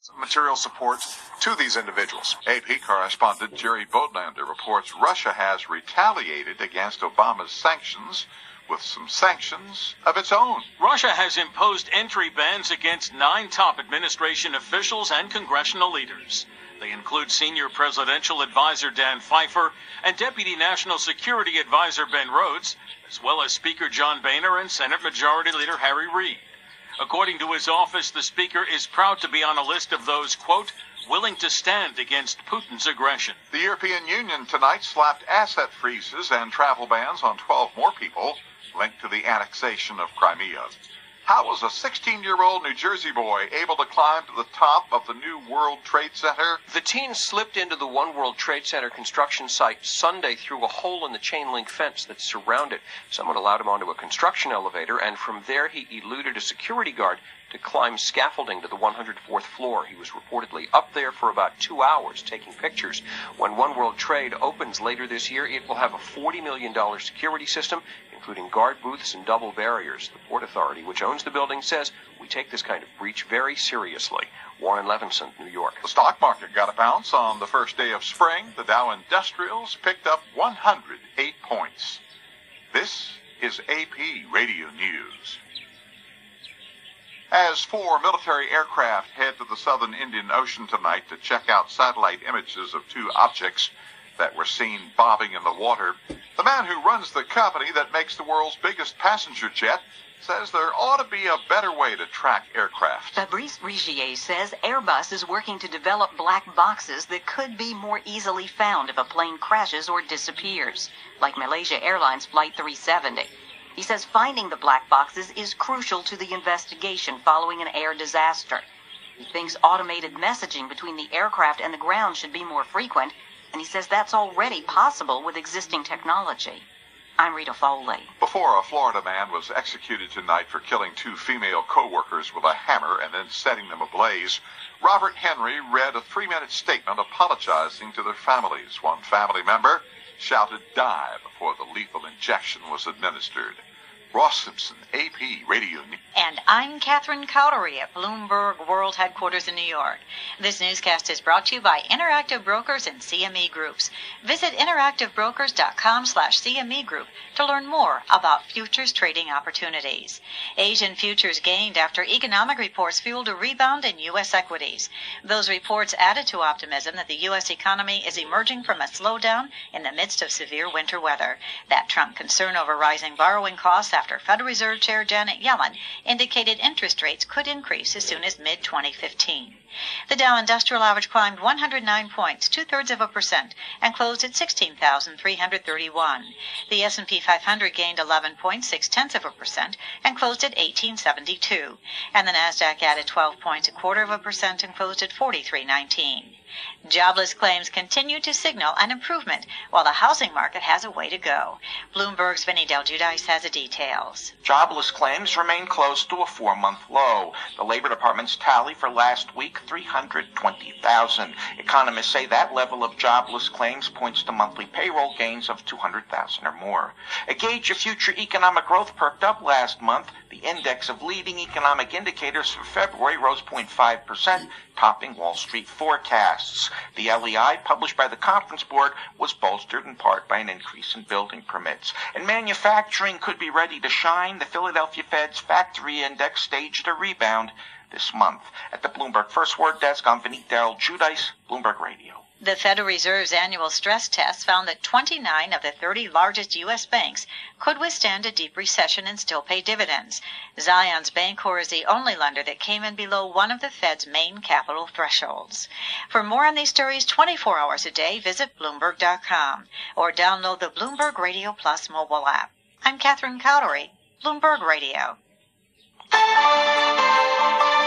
material support to these individuals. AP correspondent Jerry Bodlander reports Russia has retaliated against Obama's sanctions with some sanctions of its own. Russia has imposed entry bans against 9 top administration officials and congressional leaders. They include senior presidential advisor Dan Pfeiffer and Deputy National Security Advisor Ben Rhodes, as well as Speaker John Boehner and Senate Majority Leader Harry Reid. According to his office, the Speaker is proud to be on a list of those, quote, willing to stand against Putin's aggression. The European Union tonight slapped asset freezes and travel bans on 12 more people linked to the annexation of Crimea. How was a 16-year-old New Jersey boy able to climb to the top of the new World Trade Center? The teen slipped into the One World Trade Center construction site Sunday through a hole in the chain-link fence that surrounded. Someone allowed him onto a construction elevator, and from there he eluded a security guard to climb scaffolding to the 104th floor. He was reportedly up there for about 2 hours taking pictures. When One World Trade opens later this year, it will have a $40 million security system, including guard booths and double barriers. The Port Authority, which owns the building, says, we take this kind of breach very seriously. Warren Levinson, New York. The stock market got a bounce on the first day of spring. The Dow Industrials picked up 108 points. This is AP Radio News. As 4 military aircraft head to the southern Indian Ocean tonight to check out satellite images of 2 objects that were seen bobbing in the water, the man who runs the company that makes the world's biggest passenger jet says there ought to be a better way to track aircraft. Fabrice Rigier says Airbus is working to develop black boxes that could be more easily found if a plane crashes or disappears, like Malaysia Airlines Flight 370. He says finding the black boxes is crucial to the investigation following an air disaster. He thinks automated messaging between the aircraft and the ground should be more frequent, and he says that's already possible with existing technology. I'm Rita Foley. Before a Florida man was executed tonight for killing 2 female co-workers with a hammer and then setting them ablaze, Robert Henry read a 3-minute statement apologizing to their families. One family member shouted die before the lethal injection was administered. Ross Simpson, AP Radio News. And I'm Catherine Cowdery at Bloomberg World Headquarters in New York. This newscast is brought to you by Interactive Brokers and CME Groups. Visit interactivebrokers.com/CME Group to learn more about futures trading opportunities. Asian futures gained after economic reports fueled a rebound in U.S. equities. Those reports added to optimism that the U.S. economy is emerging from a slowdown in the midst of severe winter weather. That Trump concern over rising borrowing costs after Federal Reserve Chair Janet Yellen indicated interest rates could increase as soon as mid-2015. The Dow Industrial Average climbed 109 points, 0.2%, and closed at 16,331. The S&P 500 gained 11 points, 0.6%, and closed at 1872. And the Nasdaq added 12 points, 0.25%, and closed at 4319. Jobless claims continue to signal an improvement, while the housing market has a way to go. Bloomberg's Vinny Del Giudice has the details. Jobless claims remain close to a 4-month low. The Labor Department's tally for last week, 320,000. Economists say that level of jobless claims points to monthly payroll gains of 200,000 or more. A gauge of future economic growth perked up last month. The index of leading economic indicators for February rose 0.5%, topping Wall Street forecasts. The LEI, published by the Conference Board, was bolstered in part by an increase in building permits. And manufacturing could be ready to shine. The Philadelphia Fed's factory index staged a rebound this month. At the Bloomberg First Word Desk, I'm Vinny Del Giudice, Bloomberg Radio. The Federal Reserve's annual stress test found that 29 of the 30 largest U.S. banks could withstand a deep recession and still pay dividends. Zions Bancorp is the only lender that came in below one of the Fed's main capital thresholds. For more on these stories 24 hours a day, visit Bloomberg.com or download the Bloomberg Radio Plus mobile app. I'm Catherine Cowdery, Bloomberg Radio.